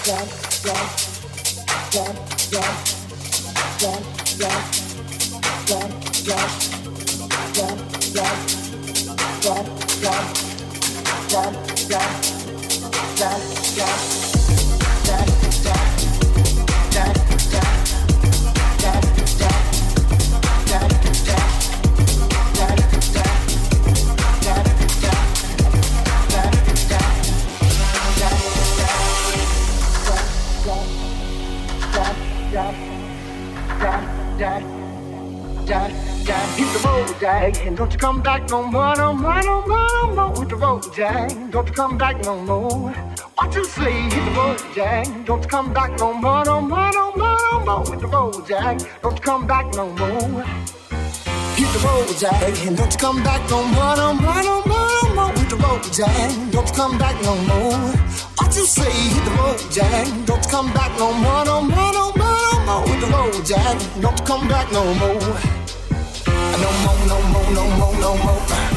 And don't you come back no more, no more, no more, no more with the road, Jack. Don't you come back no more. What you say? Hit the road, Jack. Don't you come back no more, no more, no more, no more with the road, Jack. Don't you come back no more. Hit the road, Jack. And don't you come back no more, no more, no more, no more with the road, Jack. Don't you come back no more. What you say? Hit the road, Jack. Don't you come back no more, no more, no more, no more with the road, Jack. Don't you come back no more. No more, no more, no more, no more.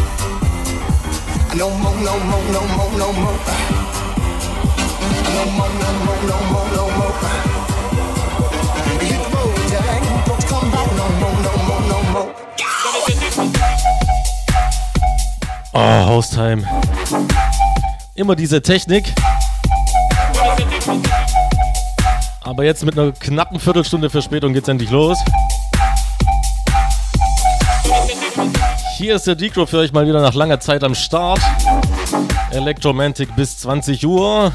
No more, no more, no more, no more. No more, no more, no more, no more. Hit the road, Jack. Don't you come back no more, no more, no more. Oh, Haustime. Immer diese Technik. Aber jetzt mit einer knappen Viertelstunde Verspätung geht's endlich los. Hier ist der Decro für euch mal wieder nach langer Zeit am Start. Electromantic bis 20 Uhr.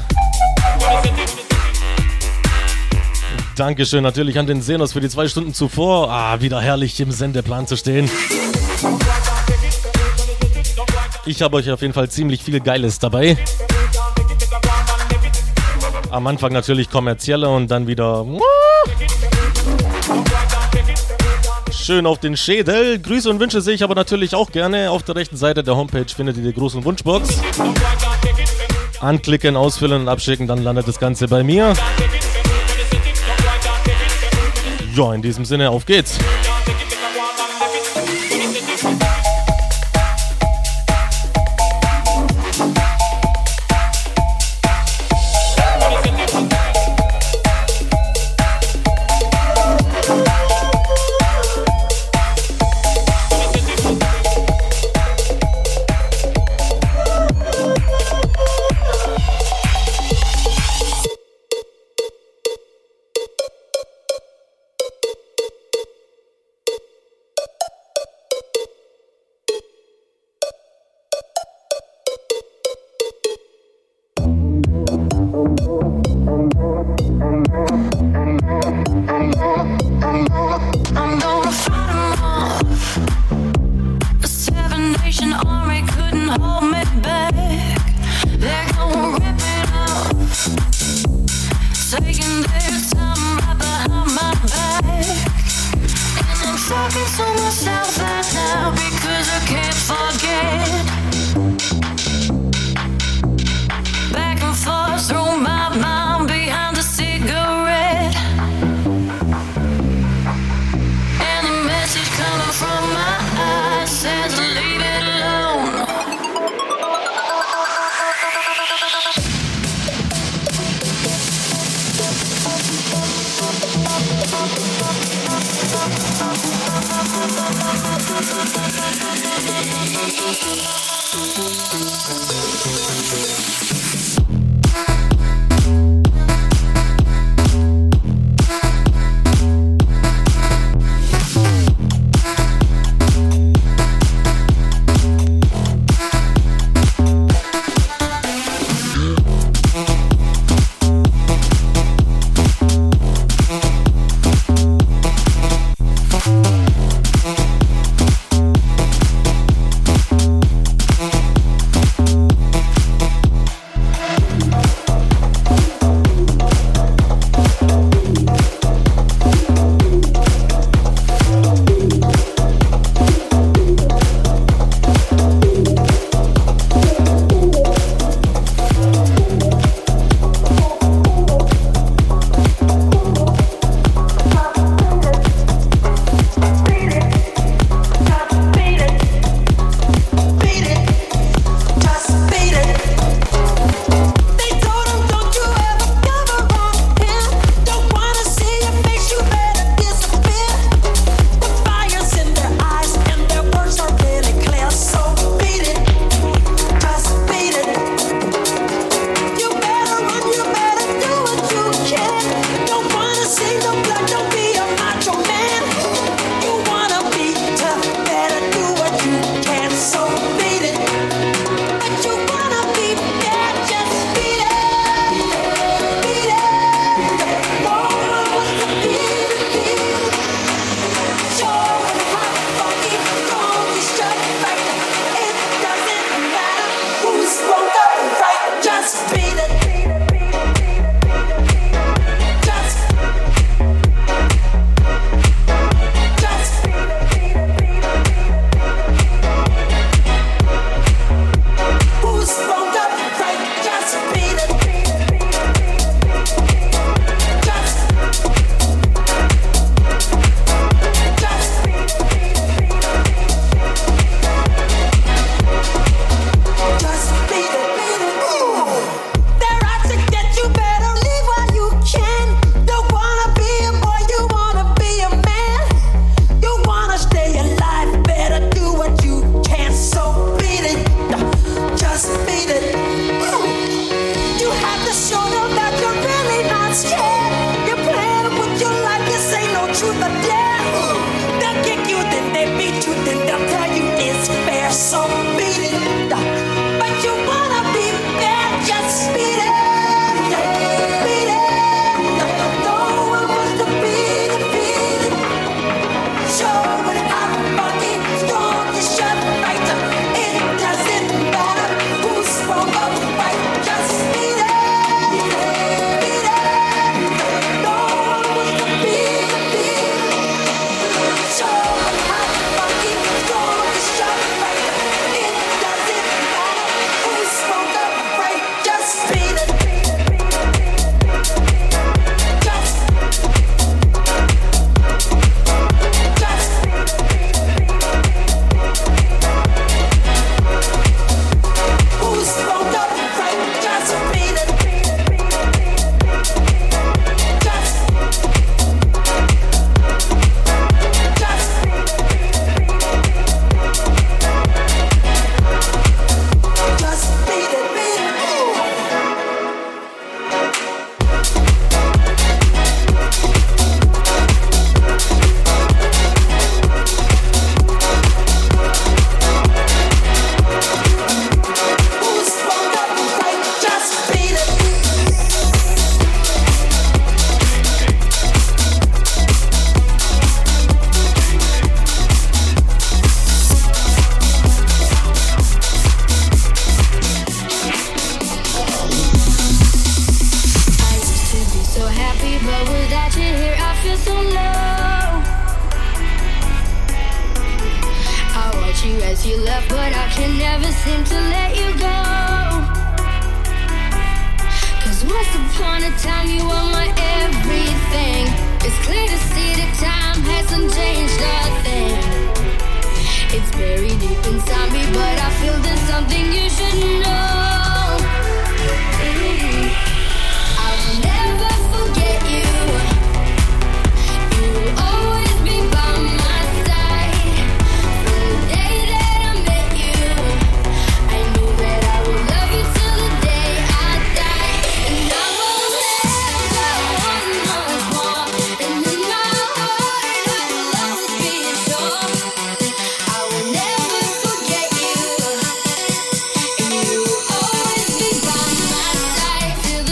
Dankeschön natürlich an den Senos für die 2 Stunden zuvor. Wieder herrlich im Sendeplan zu stehen. Ich habe euch auf jeden Fall ziemlich viel Geiles dabei. Am Anfang natürlich kommerzielle und dann wieder schön auf den Schädel. Grüße und Wünsche sehe ich aber natürlich auch gerne. Auf der rechten Seite der Homepage findet ihr die Gruß- und Wunschbox. Anklicken, ausfüllen und abschicken, dann landet das Ganze bei mir. Ja, in diesem Sinne, auf geht's. But without you here, I feel so low. I watch you as you left, but I can never seem to let you go. Cause once upon a time you were my everything. It's clear to see that time hasn't changed a thing. It's buried deep inside me, but I feel there's something you should know. I will never forget you. You will always be by my side. From the day that I met you, I knew that I would love you till the day I die. And I will never want much more. And in my heart I will always be sure. I will never forget you. And you will always be by my side till the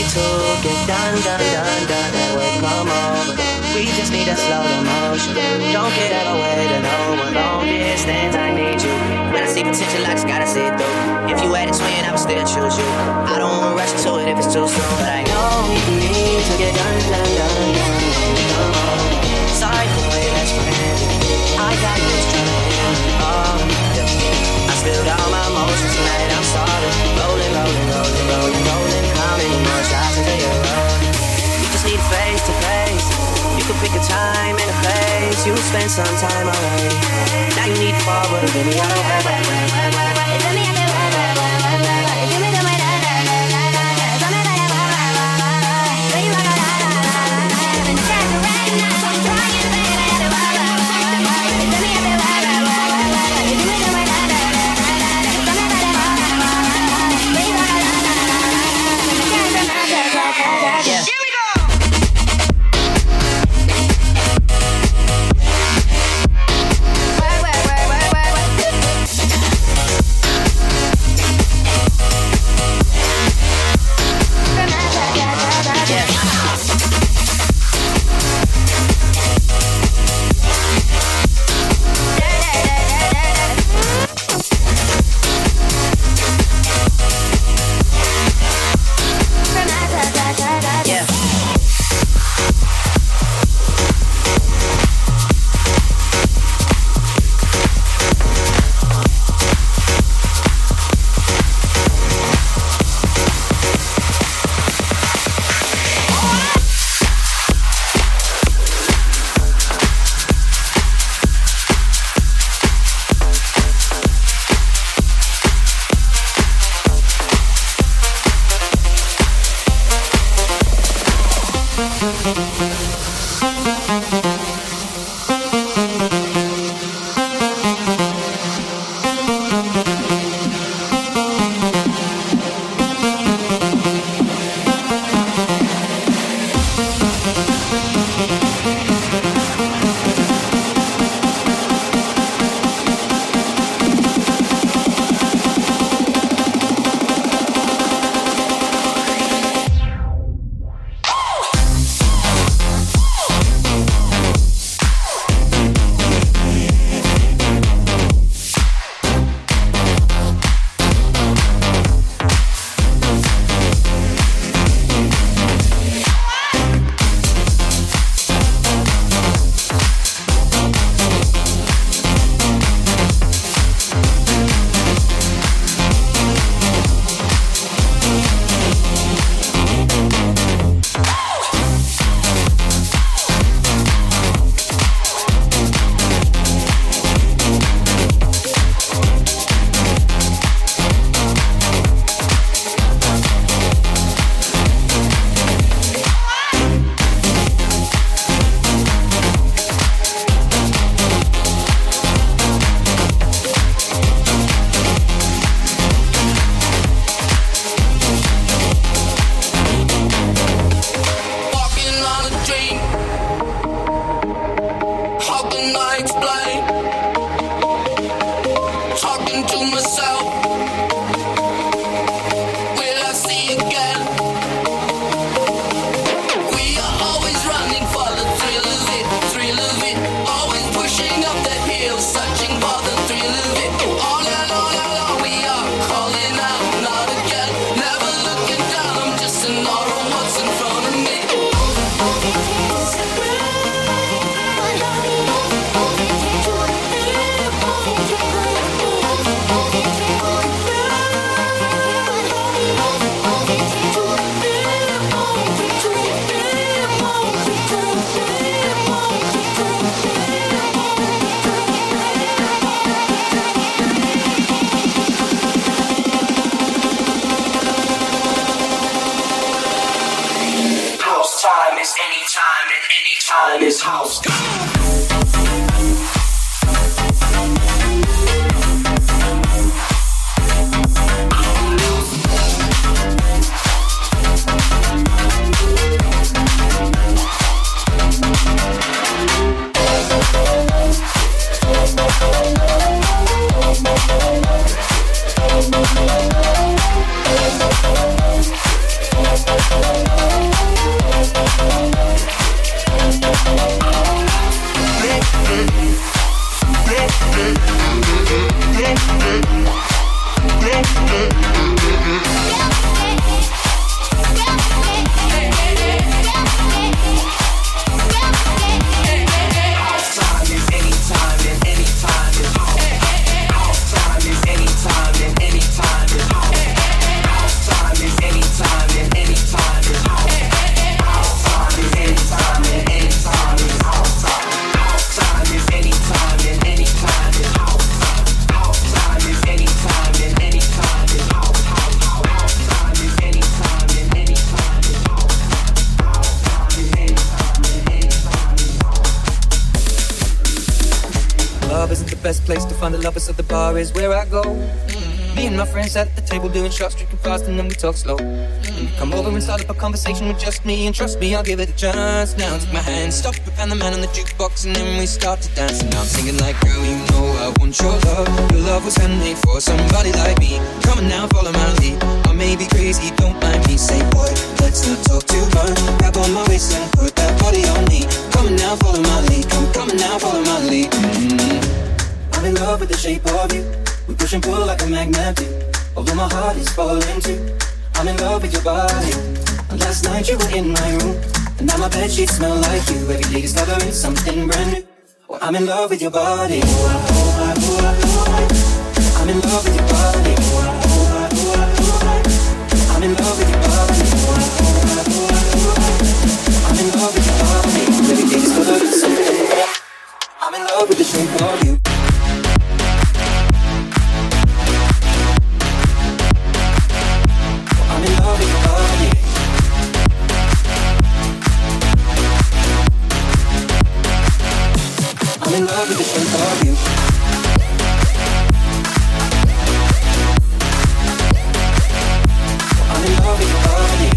to get done. That way, come over. We just need to slow the motion. Don't get out of the way to no one. Long distance, I need you. When I see potential, I just gotta see it through. If you had a twin, I would still choose you. I don't wanna rush into it if it's too soon, but I know we need to get done. Come on. Sorry for the way that's friends. I got you trying. Oh, yeah. I spilled all my emotions tonight. I'm sorry. Rolling. How many more shots until you're rolling? We just need face to face. You can pick a time and a place. You spend some time already. Now you need to forward. Give me all place to find the lovers, so the bar is where I go. Me and my friends sat at the table doing shots, drinking fast, and then we talk slow. Come over and start up a conversation with just me, and trust me, I'll give it a chance. Now take my hand, stop it, and the man on the jukebox, and then we start to dance. And now I'm singing like, girl, you know I want your love. Your love was handmade for somebody like me. Come on now, follow my lead. I may be crazy, don't mind me. Say, boy, let's not talk too much. Grab on my waist and put that body on me. Come on now, follow my lead. Come on now, follow my lead. I'm in love with the shape of you. We push and pull like a magnet do. Although my heart is falling too. I'm in love with your body. And last night you were in my room, and now my bedsheets smell like you. Every day discovering something brand new. Well, I'm in love with your body. I'm in love with your body. I'm in love with your body. I'm in love with your body. Every day discovering something new. I'm in love with the shape of you. I'm in love with your body. I'm in love with the shape of you. I'm in love with your body.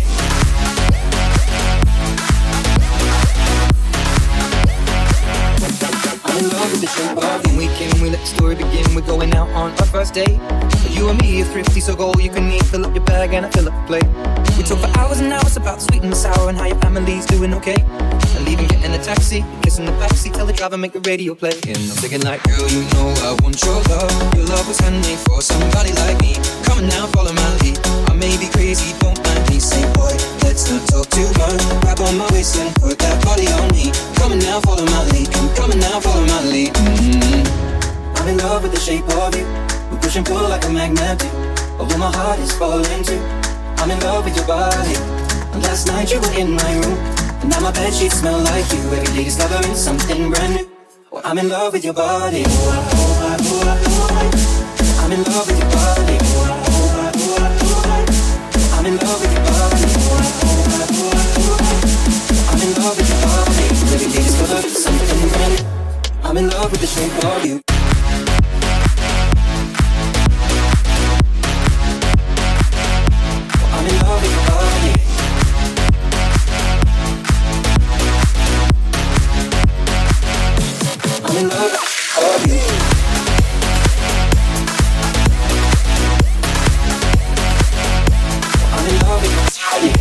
I'm in love with the shape of you. We came, we let the story begin. We're going out on our first date. You and me are thrifty, so go all you can eat. Fill up your bag and I fill up the plate. We talk for hours and hours about the sweet and the sour and how your family's doing okay. And leaving, get in a taxi, kiss in the backseat, tell the driver make the radio play. And I'm thinking like, girl, you know I want your love. Your love was handmade for somebody like me. Come on now, follow my lead. I may be crazy, don't mind me. Say, boy, let's not talk too much. Grab on my waist and put that body on me. Come on now, follow my lead. Come on now, follow my lead. I'm in love with the shape of you. We push and pull like a magnet do. Although my heart is falling too. I'm in love with your body. And last night you were in my room, and now my bedsheets smell like you. Every day discovering something brand new. Well, I'm in love with your body. I'm in love with your body. I'm in love with your body. I'm in love with your body. Every day discovering something brand new. I'm in love with the shape of you. I'm in love with your body. I'm in love with you. I'm in love with your body.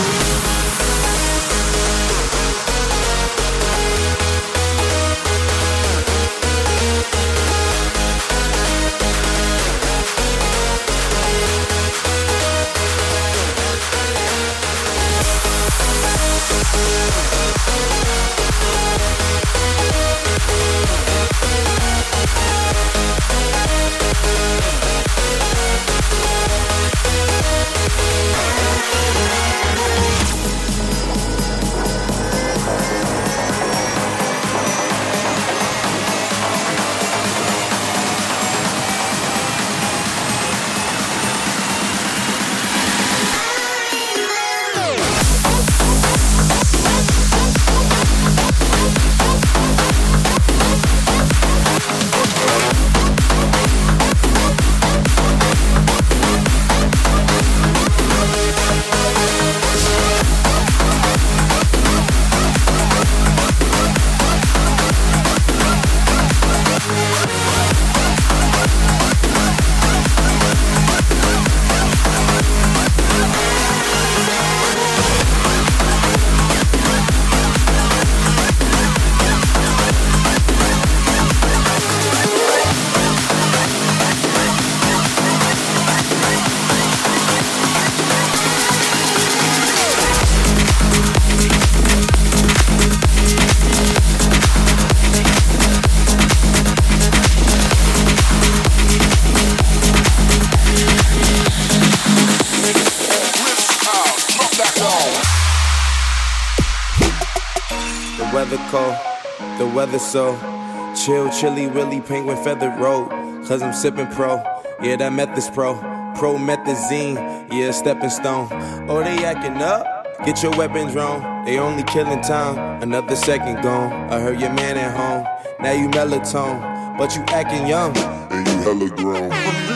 weather cold, the weather so chill, chilly, willy, penguin feathered road. Cause I'm sipping pro, yeah, that meth is pro. Promethazine, yeah, stepping stone. Oh, they acting up, get your weapons wrong. They only killing time, another second gone. I heard your man at home, now you melatonin, but you acting young, and you hella grown.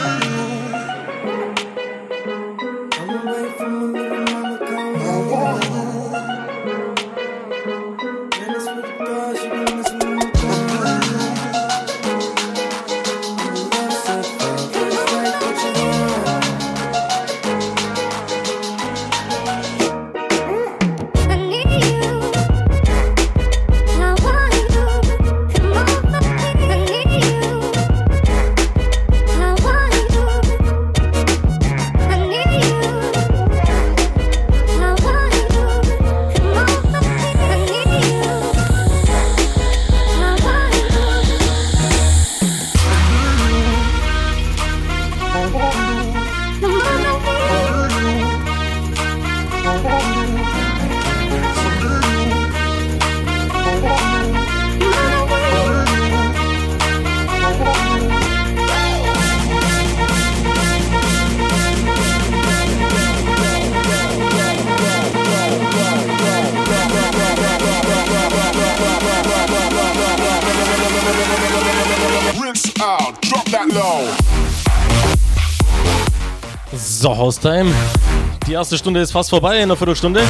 So, Haustime. Die erste Stunde ist fast vorbei, in einer Viertelstunde.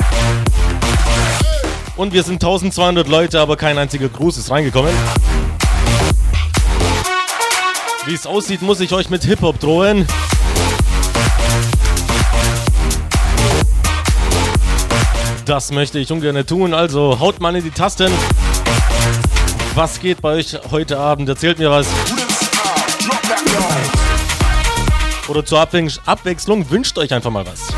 Und wir sind 1200 Leute, aber kein einziger Gruß ist reingekommen. Wie es aussieht, muss ich euch mit Hip-Hop drohen. Das möchte ich ungern tun, also haut mal in die Tasten. Was geht bei euch heute Abend? Erzählt mir was. Oder zur Abwechslung wünscht euch einfach mal was.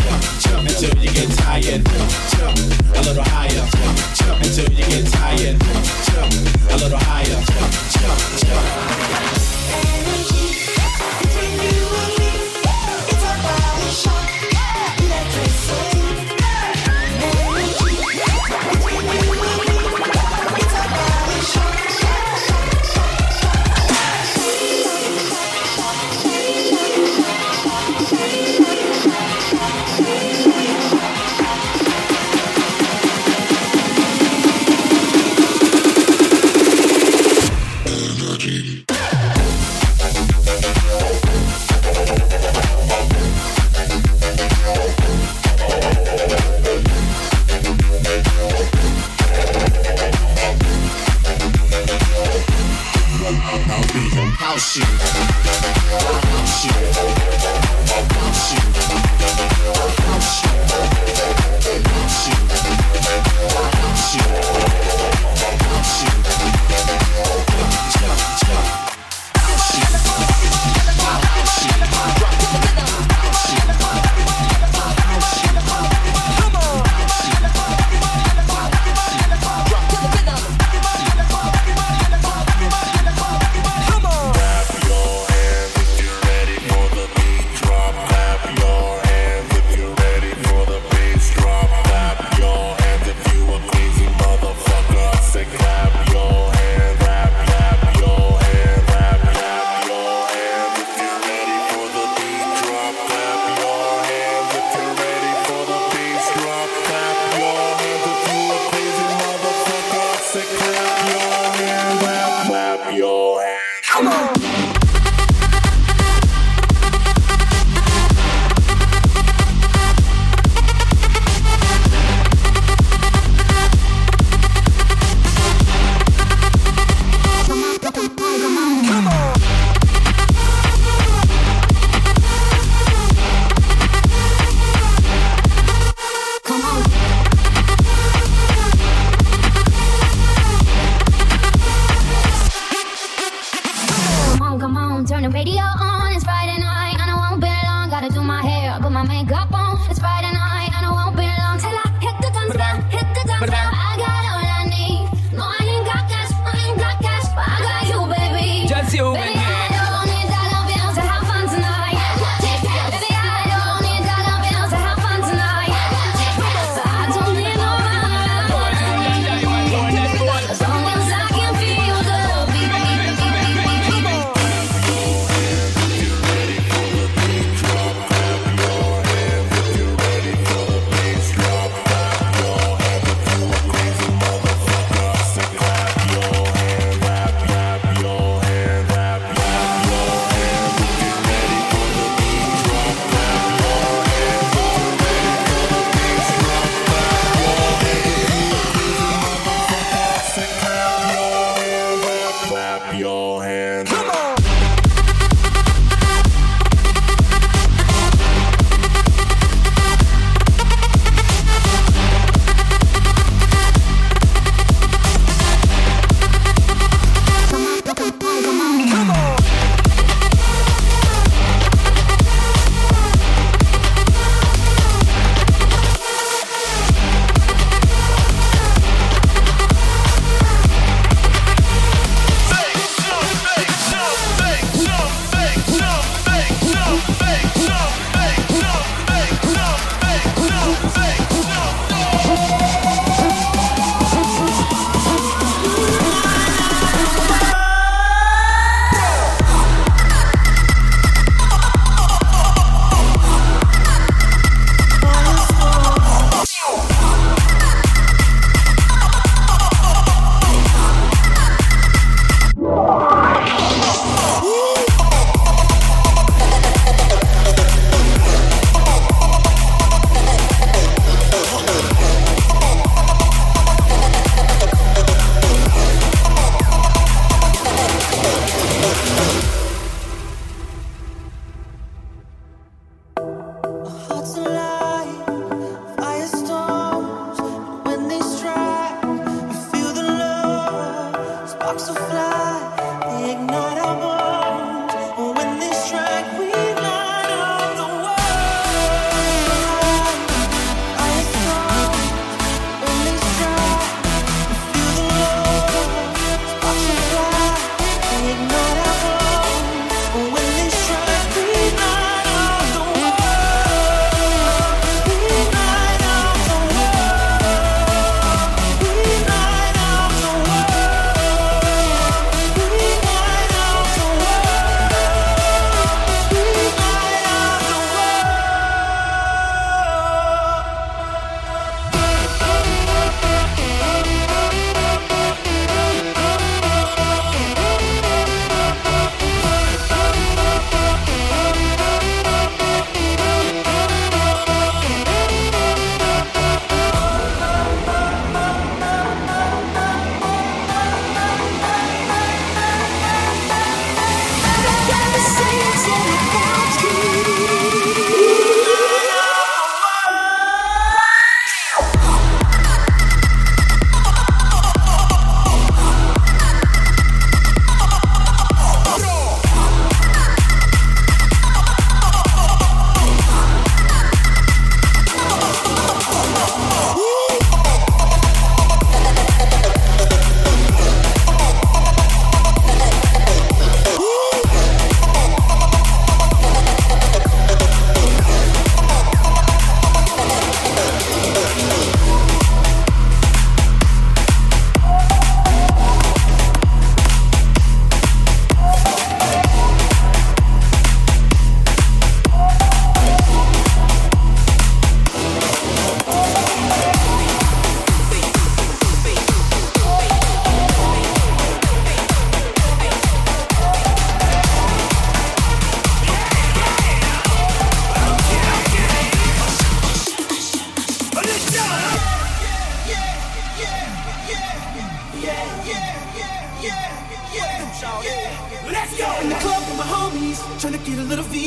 jump until you get tired. Jump a little higher. Jump until you get tired. Jump a little higher. Jump, jump. Between you and me, it's a body shot. Electricity. Between you and me, it's a body shot. House you, house you, house you, house you, house you, house you, house you, jump, jump, house you, house you, drop the rhythm, house you, house you, come on, house you, drop to the rhythm.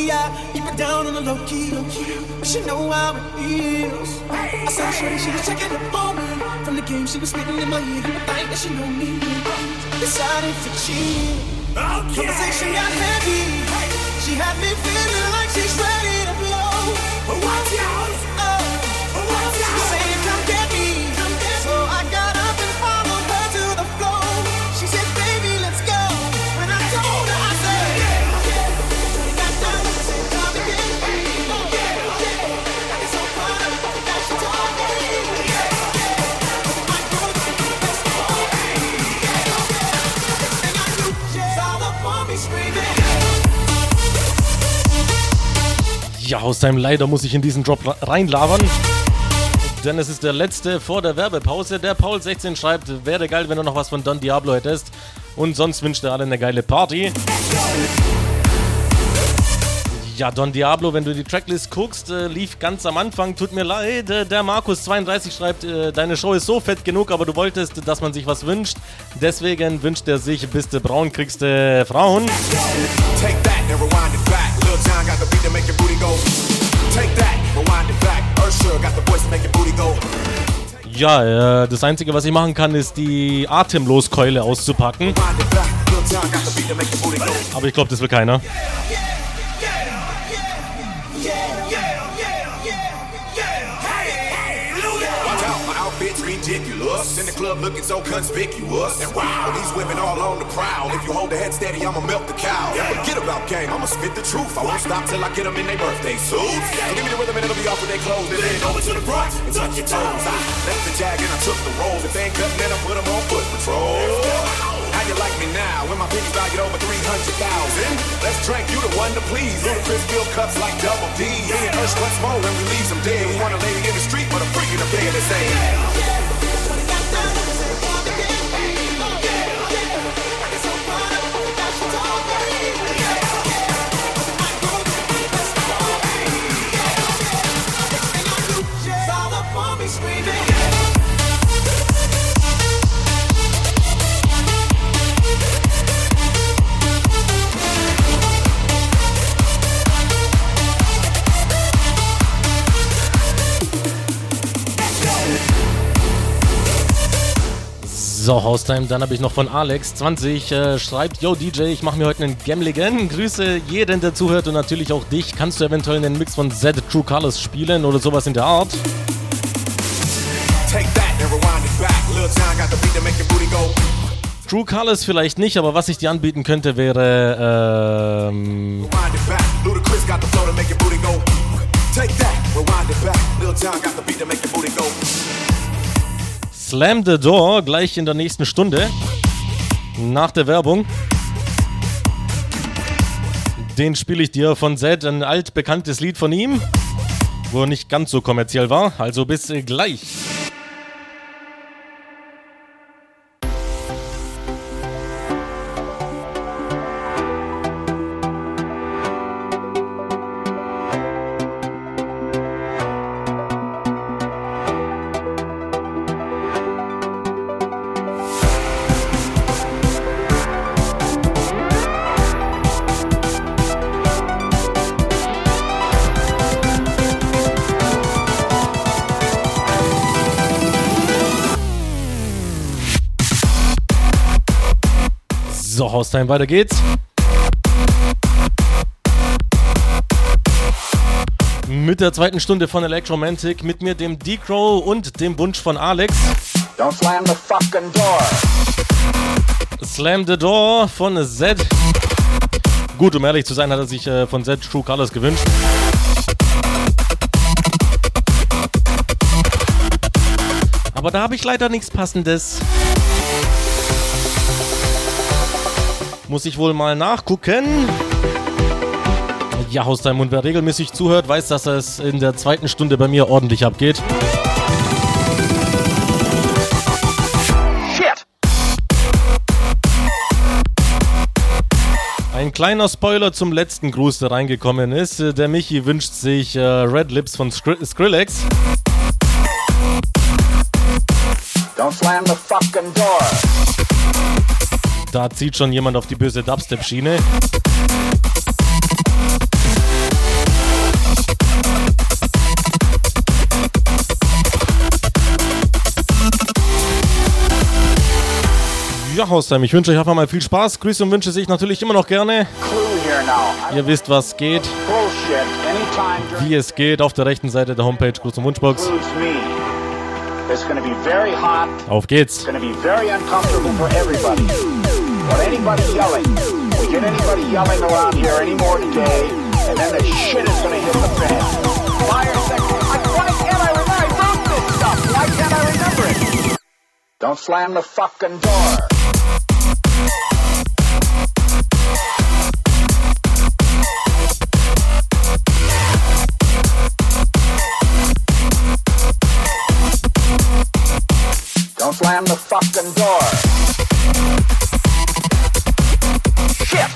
I keep it down on the low key. She know how it feels. I saw shorty, she was checking up on me. From the game, she was spitting in my ear. You would think that she know me. Decided to cheat. Conversation got heavy. She had me feeling like she's ready to blow. Watch out! She said, come get me. So I got up and followed her to the floor. She said, baby, let's go. When I told her, I said, we got down and said, come again. I get so caught up that she told me. My girl, that's the whole thing. And I knew she's all up on me screaming. Ja, Haustime, leider muss ich in diesen Drop reinlabern, denn es ist der letzte vor der Werbepause. Der Paul16 schreibt, wäre geil, wenn du noch was von Don Diablo hättest, und sonst wünscht er alle eine geile Party. Ja, Don Diablo, wenn du die Tracklist guckst, lief ganz am Anfang, tut mir leid. Der Markus32 schreibt, deine Show ist so fett genug, aber du wolltest, dass man sich was wünscht. Deswegen wünscht er sich, bist du braun, kriegst du Frauen. Take that and rewind it back. Lil Jon got the beat to make your booty go. Take that, rewind it back. Usher got the voice to make your booty go. Ja, das Einzige, was ich machen kann, ist die Atemloskeule auszupacken. Rewind it back. Lil Jon got the beat to make your booty go. Aber ich glaube, das will keiner. Outfit's ridiculous. In the club looking so conspicuous. And wow, these women all on the prowl. If you hold the head steady, I'ma milk the cow. Yeah, forget about game, I'ma spit the truth. I won't stop till I get them in their birthday suits. So give me the rhythm and it'll be off with their clothes. Then lean over to the front and touch your toes. I left the jag and I took the rolls. If they ain't cutting, then I put them on foot patrol. How you like me now when my pennies valued over 300,000? Let's drink, you the one to please. Ludacris fill cups like Double D. Me and Ursh, what's more when we leave them dead? We want a lady in the street, but a freak in the bed to say. So, Haustime, dann habe ich noch von Alex20, schreibt, yo DJ, ich mache mir heute einen Gemligen, grüße jeden, der zuhört und natürlich auch dich. Kannst du eventuell einen Mix von Z True Colors spielen oder sowas in der Art? Take that and rewind it back. Lil Jon got the beat to make your booty go. True Colors vielleicht nicht, aber was ich dir anbieten könnte, wäre Rewind it back. Ludacris got the flow to make your booty go. Take that, rewind it back. Lil Jon got the beat to make your booty go. Slam the Door, gleich in der nächsten Stunde, nach der Werbung. Den spiele ich dir von Zed, ein altbekanntes Lied von ihm, wo er nicht ganz so kommerziell war, also bis gleich. So, Haustime, weiter geht's. Mit der zweiten Stunde von Electromantic, mit mir, dem D-Crow und dem Wunsch von Alex. Don't slam the fucking door. Slam the Door von Zed. Gut, um ehrlich zu sein, hat er sich von Zed True Colors gewünscht. Aber da habe ich leider nichts Passendes. Muss ich wohl mal nachgucken. Ja, Haustime, und wer regelmäßig zuhört, weiß, dass es in der zweiten Stunde bei mir ordentlich abgeht. Shit. Ein kleiner Spoiler zum letzten Gruß, der reingekommen ist. Der Michi wünscht sich Red Lips von Skrillex. Don't slam the fucking door. Da zieht schon jemand auf die böse Dubstep-Schiene. Ja, Haustime, ich wünsche euch einfach mal viel Spaß. Grüße und Wünsche sehe ich natürlich immer noch gerne. Clue here now. Ihr wisst, was geht, Bullshit. Anytime during wie es geht. Auf der rechten Seite der Homepage Gruß und Wunschbox. includes me. It's going to be very hot. Auf geht's. It's going to be very uncomfortable for everybody. But anybody yelling, we get anybody yelling around here anymore today, and then the shit is going to hit the fan. Fire section. Why can't I remember? I wrote this stuff. Why can't I remember it? Don't slam the fucking door. Don't slam the fucking door. Shit!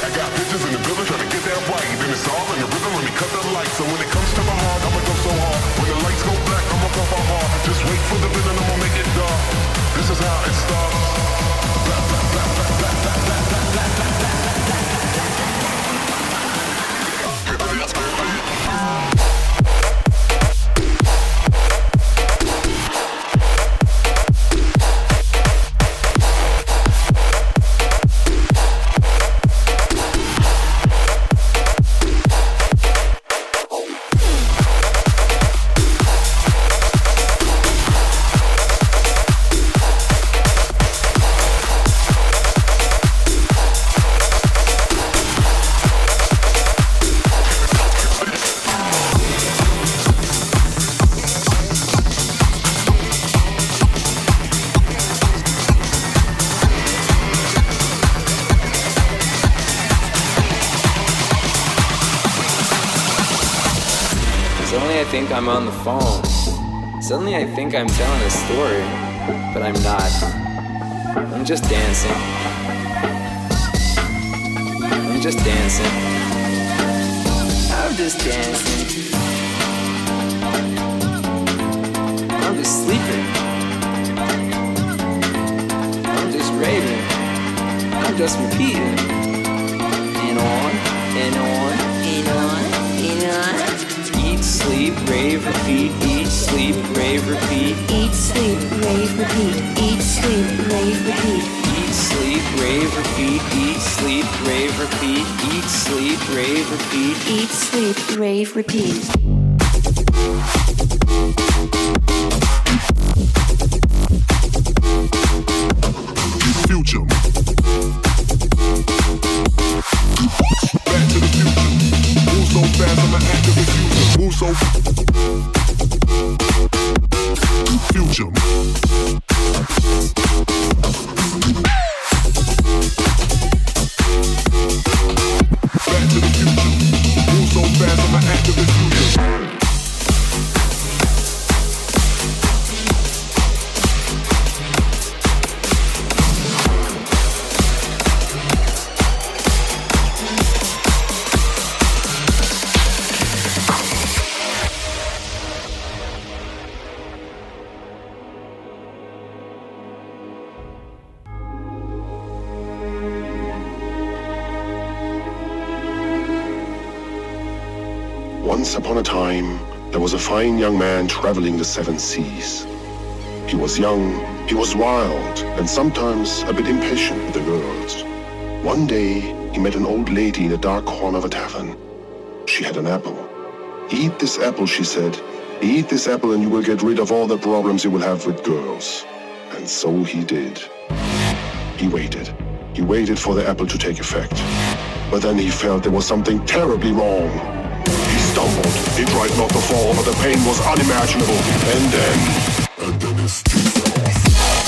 I got bitches in the building trying to get that right. Then it's all in the rhythm, let me cut the lights. So when it comes to my heart, I'ma go so hard. When the lights go black, I'ma pump my heart. Just wait for the villain, I'ma make it dark. This is how it starts. Blah, blah, blah, blah, blah, blah, blah, blah, blah, blah, blah. Suddenly I think I'm on the phone. Suddenly I think I'm telling a story, but I'm not. I'm just dancing. I'm just dancing. I'm just dancing. I'm just sleeping. I'm just raving. I'm just repeating. And on, and on, and on, and on. Eat, sleep, rave, repeat. Eat, sleep, rave, repeat. Eat, sleep, rave, repeat. Eat, sleep, rave, repeat. Eat, sleep, rave, repeat. Eat, sleep, rave, repeat. Eat, sleep, rave, repeat. Eat, sleep, rave, repeat. Future. Back to the future. Move so fast, I'm an active diffuser. Move so future. Back to the future. Move so fast, I'm an active diffuser. Once upon a time, there was a fine young man traveling the seven seas. He was young, he was wild, and sometimes a bit impatient with the girls. One day, he met an old lady in a dark corner of a tavern. She had an apple. Eat this apple, she said. Eat this apple and you will get rid of all the problems you will have with girls. And so he did. He waited. He waited for the apple to take effect. But then he felt there was something terribly wrong. He stumbled. He tried not to fall, but the pain was unimaginable. And then his teeth fell off.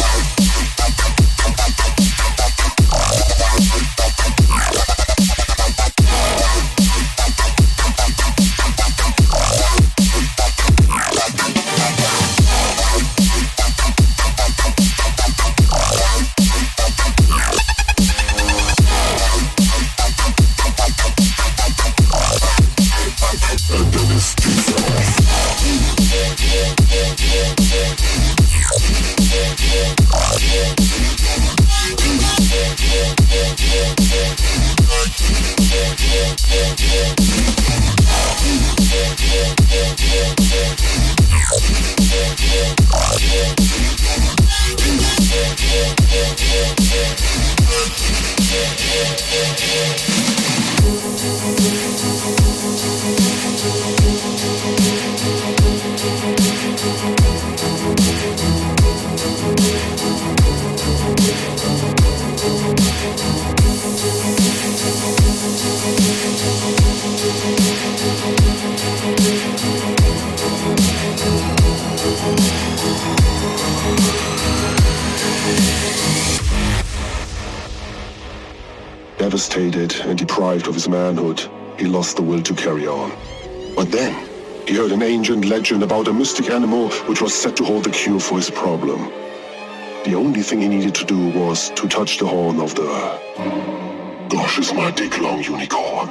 Devastated and deprived of his manhood, he lost the will to carry on. But then, he heard an ancient legend about a mystic animal which was said to hold the cure for his problem. The only thing he needed to do was to touch the horn of the Gosh, is my dick long, unicorn.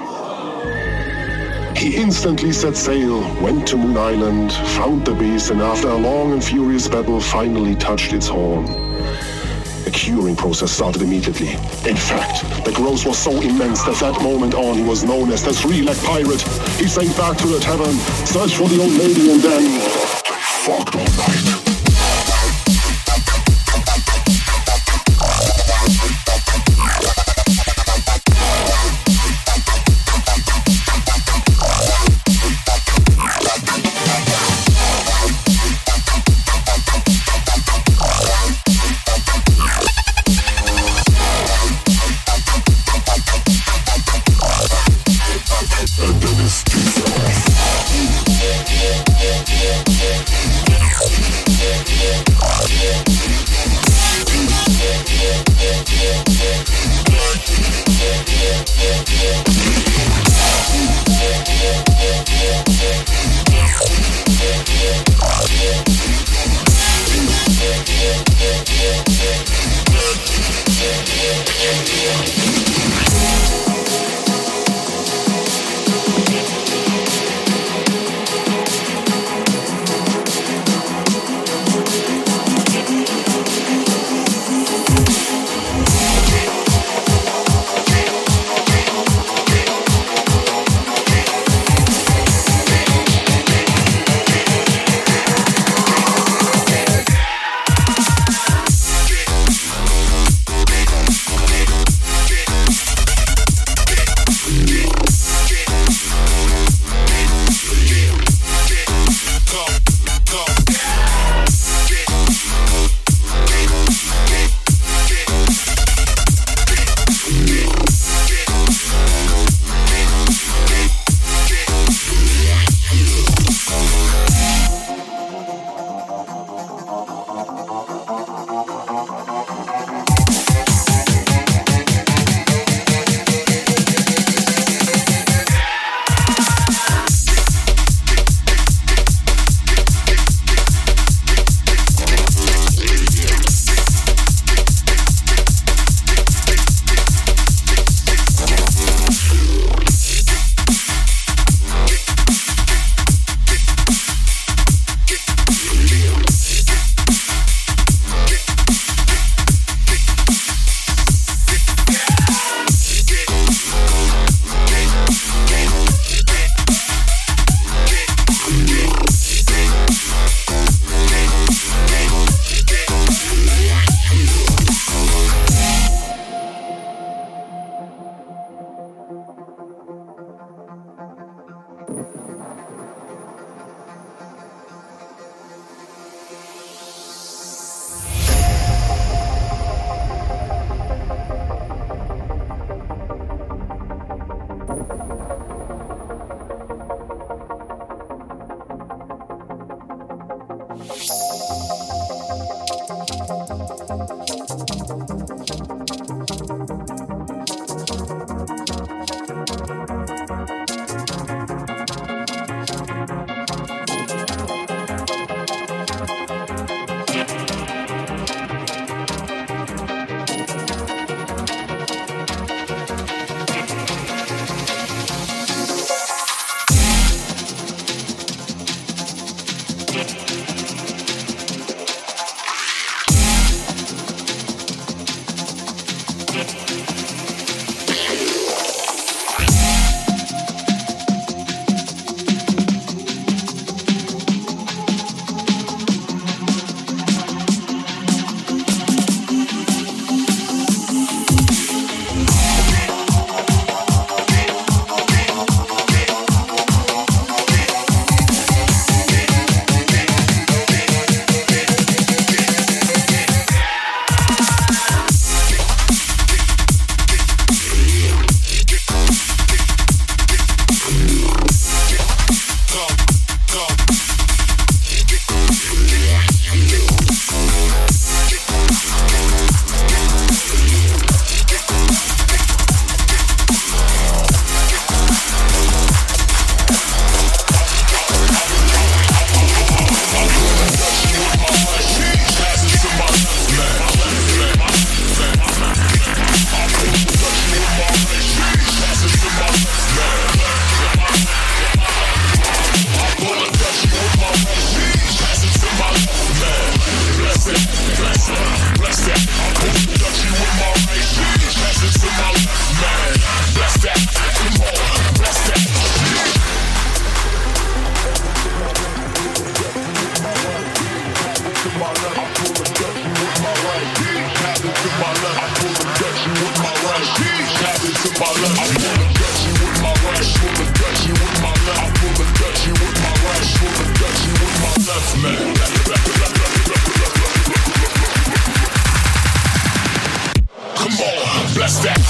He instantly set sail, went to Moon Island, found the beast, and after a long and furious battle, finally touched its horn. The curing process started immediately. In fact, the growth was so immense that that moment on he was known as the three-leg pirate. He sailed back to the tavern, searched for the old lady, and then they fucked all night. to my left, I pull a Dutchie with my right. Tap it to my left, I pull a Dutchie with my right. Tap it to my left, I pull a Dutchie with my right. Pull a Dutchie with my left, I pull a Dutchie with my right. Pull a Dutchie with my left, man. Come on, bless that.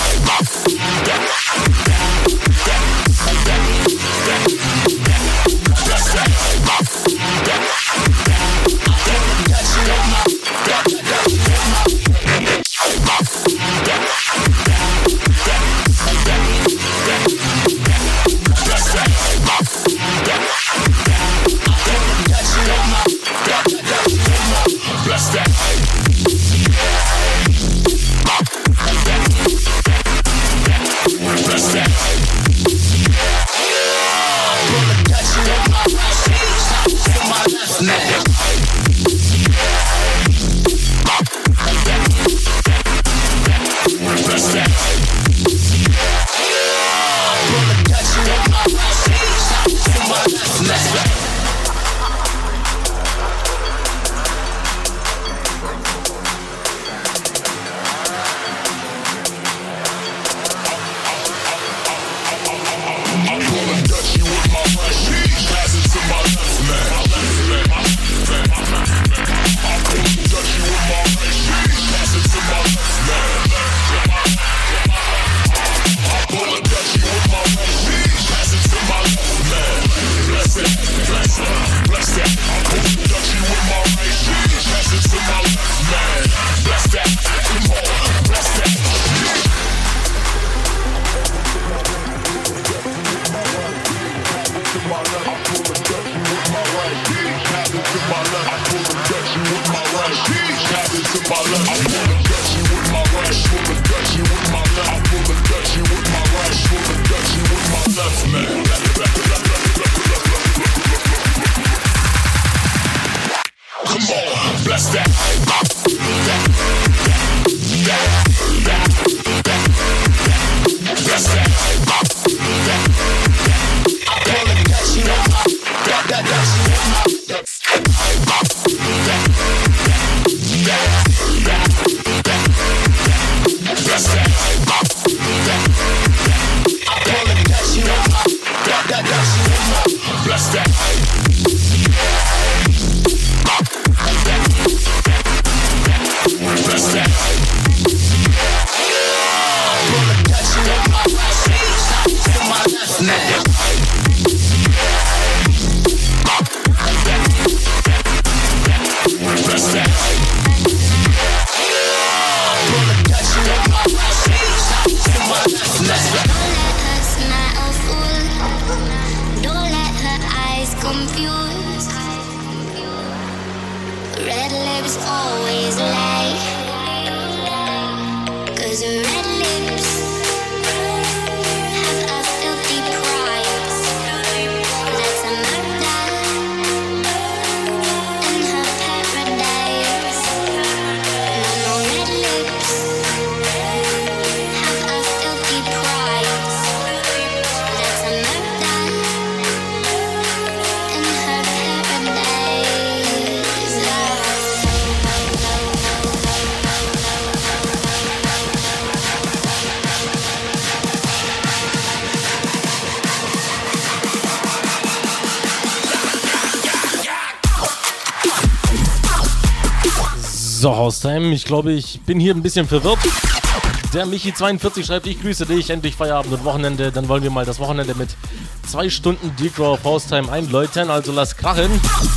So, Haustime, ich glaube, ich bin hier ein bisschen verwirrt. Der Michi42 schreibt, ich grüße dich, endlich Feierabend und Wochenende. Dann wollen wir mal das Wochenende mit 2 Stunden Deep Raw auf Haustime einläuten, also lass krachen.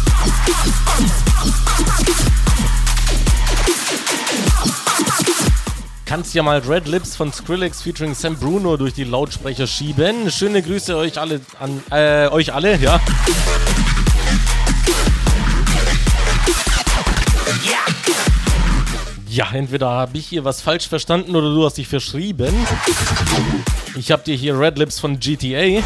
Kannst ja mal Red Lips von Skrillex featuring Sam Bruno durch die Lautsprecher schieben. Schöne Grüße euch alle euch alle, ja. Ja, entweder habe ich hier was falsch verstanden oder du hast dich verschrieben. Ich habe dir hier Red Lips von GTA.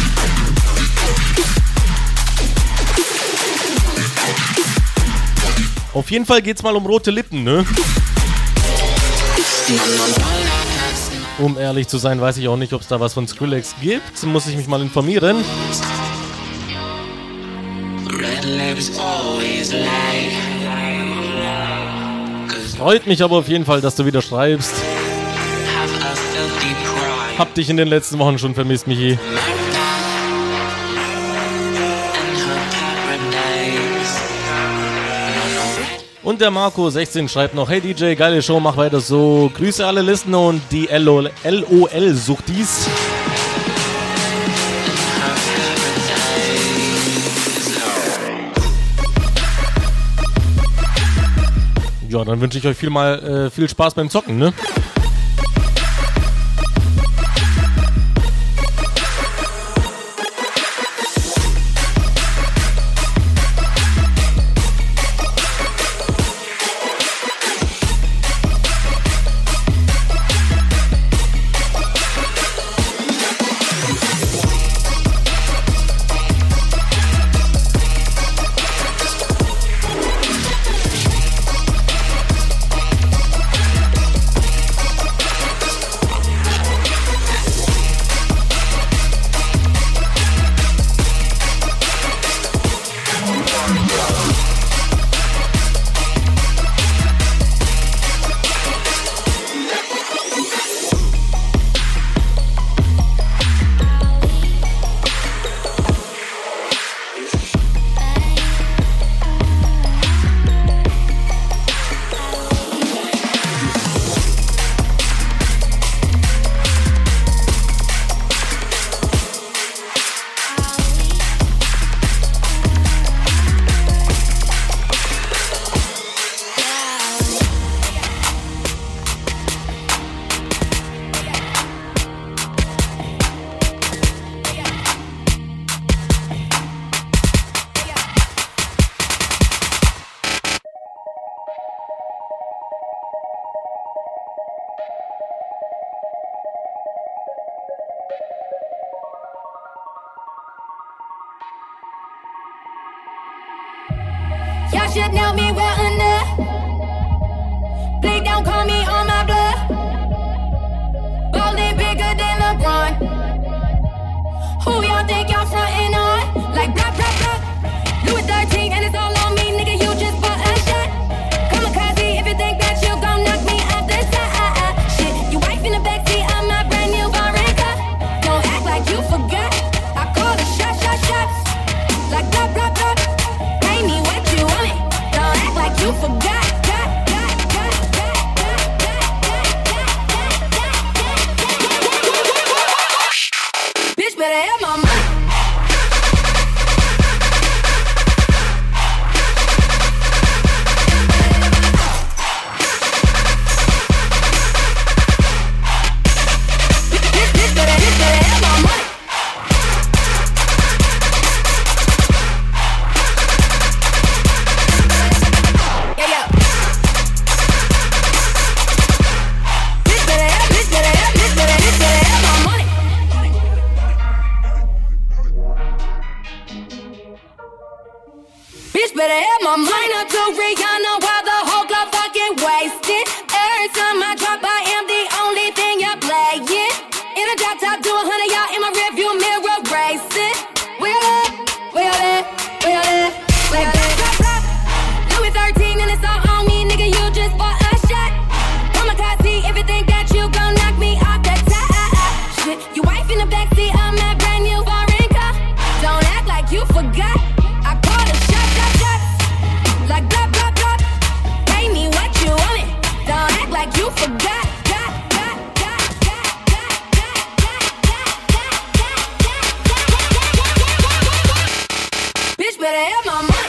Auf jeden Fall geht's mal um rote Lippen, ne? Um ehrlich zu sein, weiß ich auch nicht, ob es da was von Skrillex gibt. Muss ich mich mal informieren. Red lips always lie. Freut mich aber auf jeden Fall, dass du wieder schreibst. Hab dich in den letzten Wochen schon vermisst, Michi. Und der Marco 16 schreibt noch: Hey DJ, geile Show, mach weiter so. Grüße alle Listener und die LOL-Suchtis. Ja, dann wünsche ich euch viel Spaß beim Zocken, ne? Y'all should know me well enough. Please don't call me on my bluff. Ballin' bigger than LeBron. Who y'all think y'all frontin' on? Like blah, blah, blah. Louis 13 and it's all on me, nigga, you just bought a shot. Kamikaze if you think that you gon' knock me off the side. Shit, you wife in the backseat, I'm my brand new foreign car. Don't act like you forgot. I call the shots. Like blah, blah, blah. Pay me what you want it. Don't act like you forgot. Bitch better have my money. Bitch better have my money. Bitch better have my mind up to Rihanna while the whole club fucking wasted. Every time I drop, I am the only thing you're playing. In a drop top, do 100 y'all in my rearview mirror racing. Wheel it, wheel it, wheel it, wheel it. Louis 13 and it's all on me, nigga, you just bought a shot. Kamikaze if you think that you gon' knock me off the top. Shit, you wife in the backseat, I'm that brand new foreign car. Don't act like you forgot. I call the shots. Like blah, blah, blah. Pay me what you want it. Don't act like you forgot. Bitch better have my money.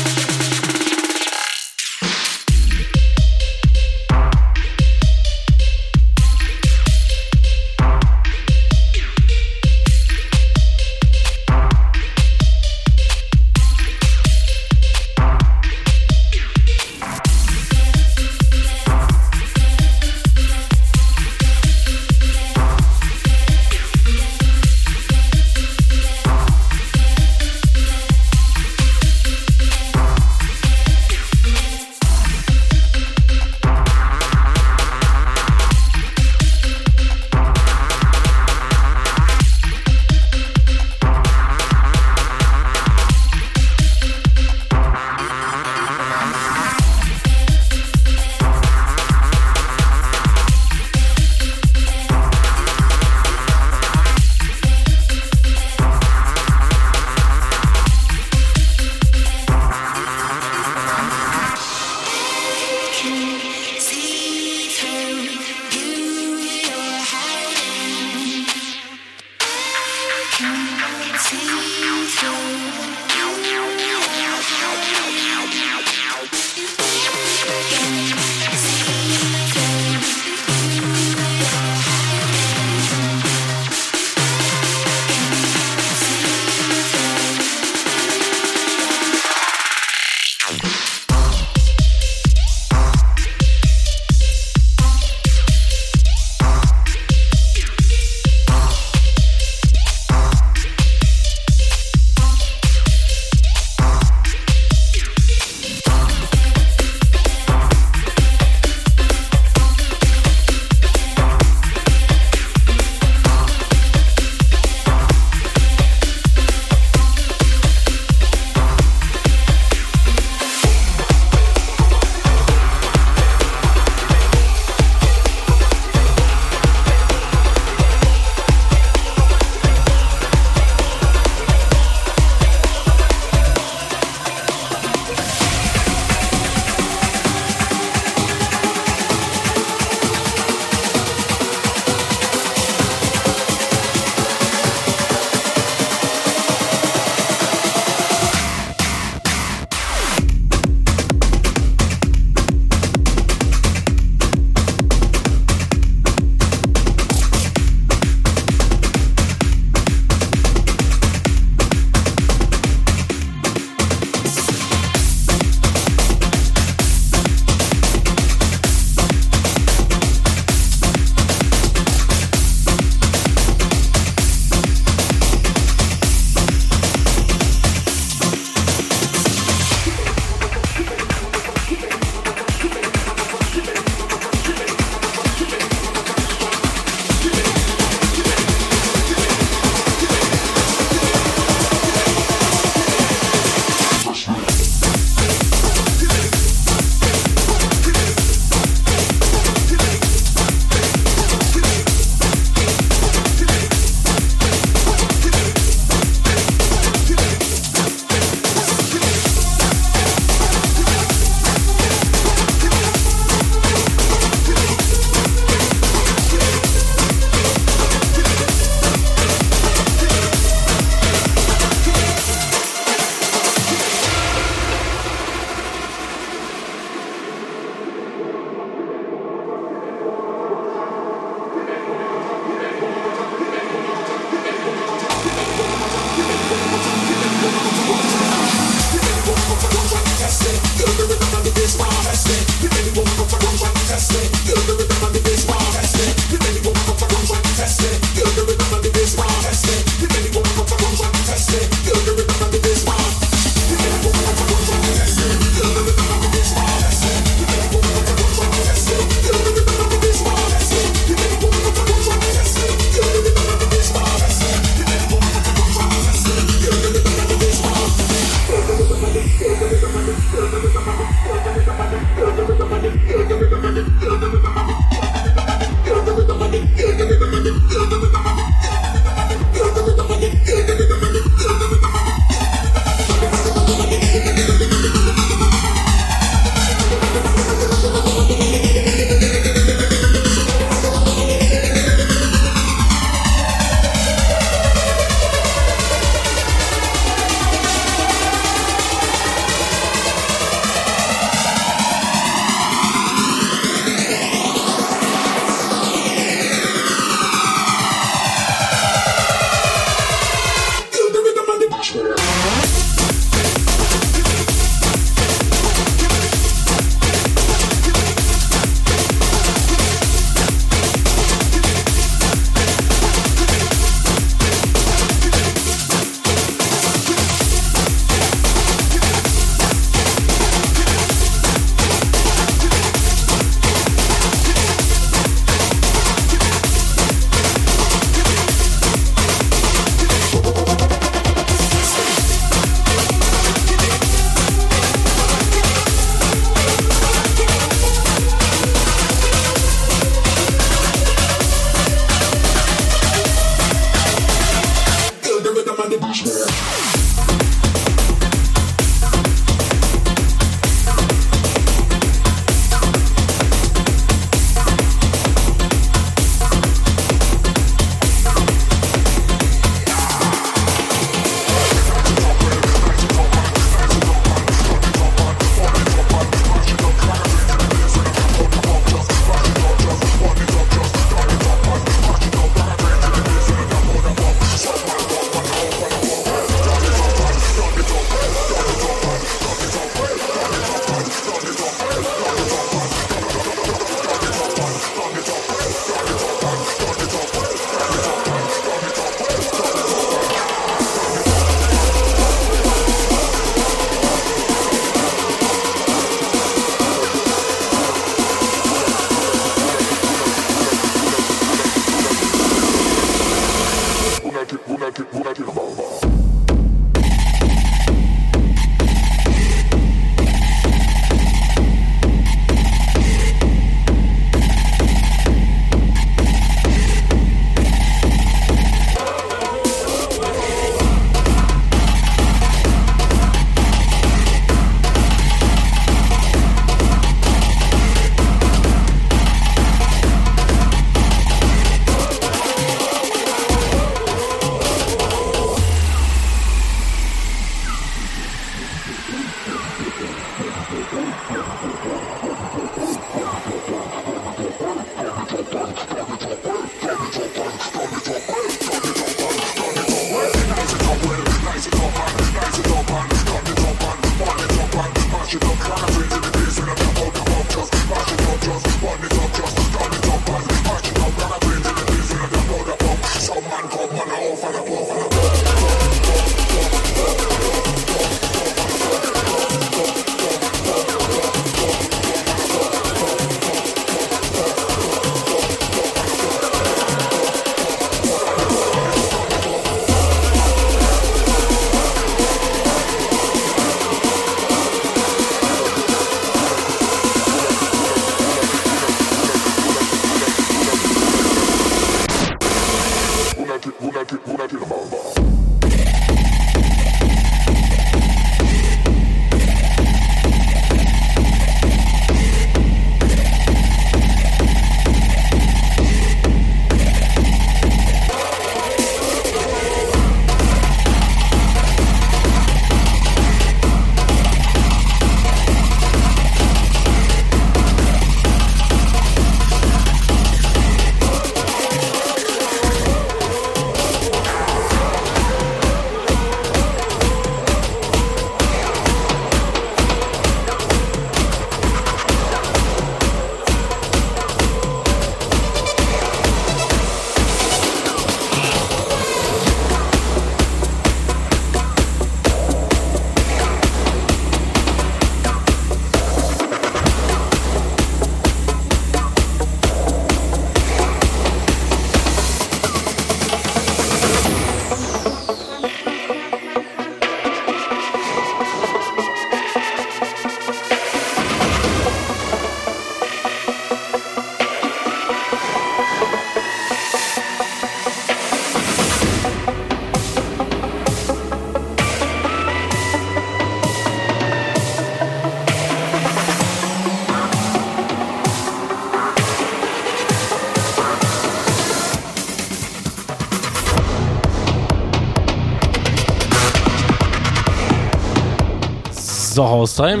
So, Haustime.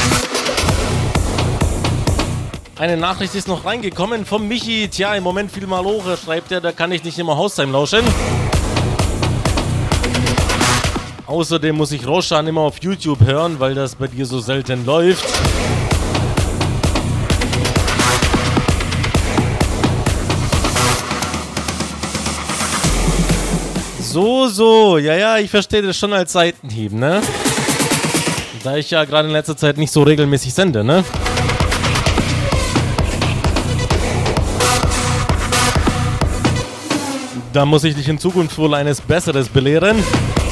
Eine Nachricht ist noch reingekommen vom Michi. Tja, im Moment viel Malore, schreibt er, da kann ich nicht immer Haustime lauschen. Außerdem muss ich Roshan immer auf YouTube hören, weil das bei dir so selten läuft. So, ja, ich verstehe das schon als Seitenhieb, ne? Da ich ja gerade in letzter Zeit nicht so regelmäßig sende, ne? Da muss ich dich in Zukunft wohl eines Besseres belehren.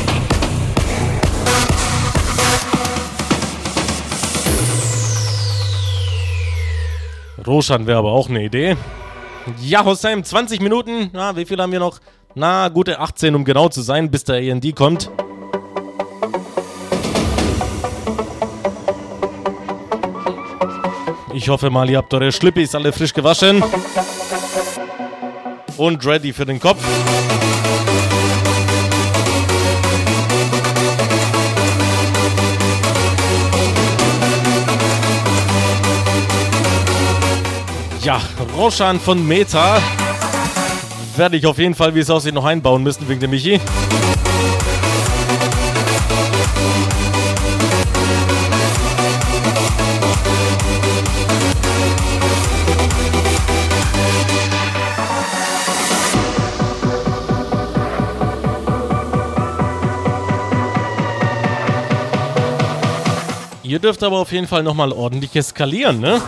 Roshan wäre aber auch eine Idee. Ja, Hossein, 20 Minuten. Na, wie viel haben wir noch? Na, gute 18, um genau zu sein, bis der A&D kommt. Ich hoffe mal, ihr habt eure Schlippis alle frisch gewaschen. Und ready für den Kopf. Ja, Roshan von Meta werde ich auf jeden Fall, wie es aussieht, noch einbauen müssen wegen dem Michi. Ihr dürft aber auf jeden Fall nochmal ordentlich eskalieren, ne?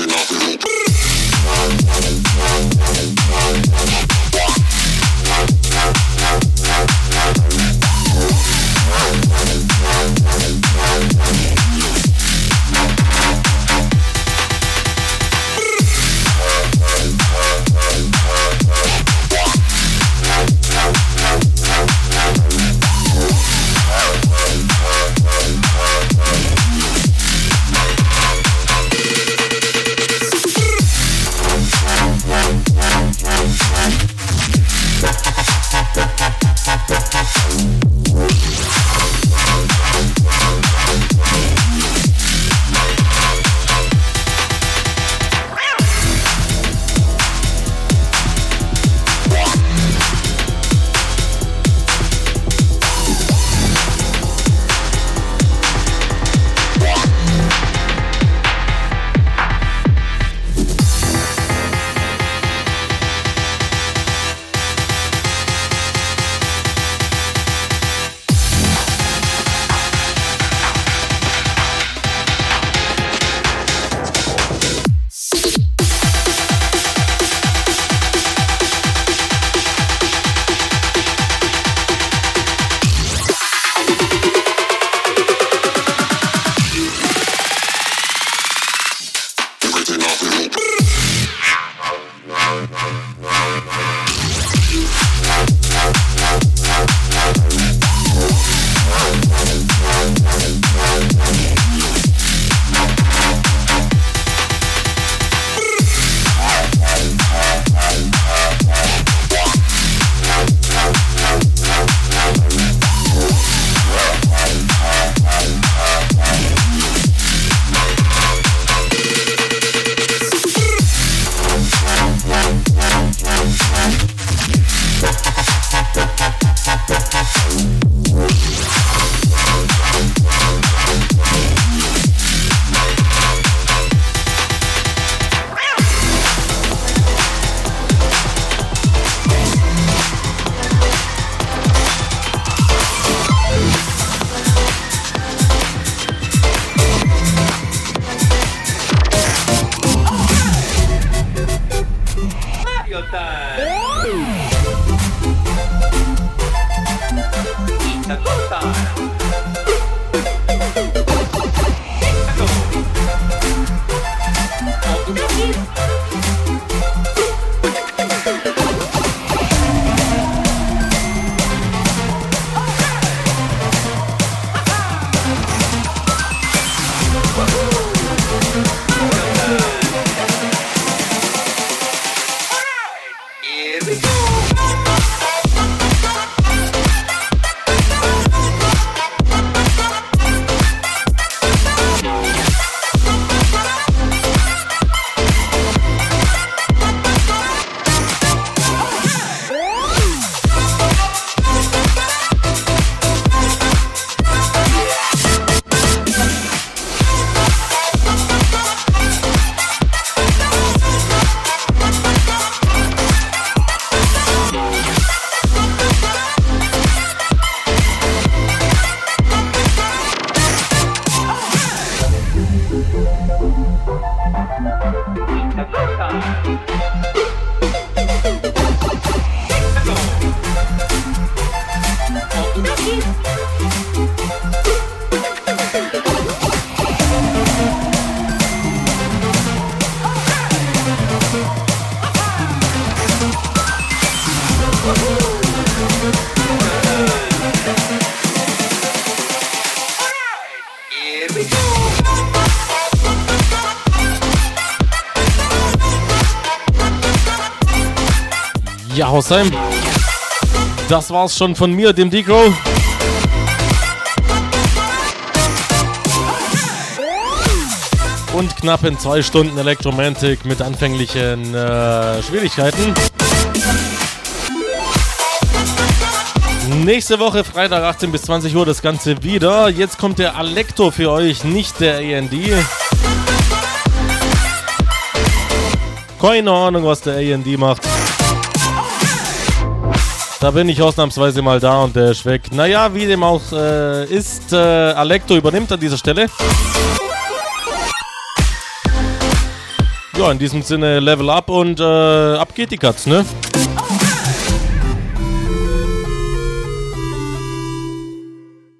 Ja, Hausheim. Das war's schon von mir, dem Degro. Und knapp in 2 Stunden Electromantic mit anfänglichen Schwierigkeiten. Nächste Woche, Freitag 18 bis 20 Uhr, das Ganze wieder. Jetzt kommt der Alecto für euch, nicht der AND. Keine Ahnung, was der AND macht. Da bin ich ausnahmsweise mal da und der ist weg. Naja, wie dem auch ist, Alecto übernimmt an dieser Stelle. Ja, in diesem Sinne Level Up und ab geht die Katz, ne?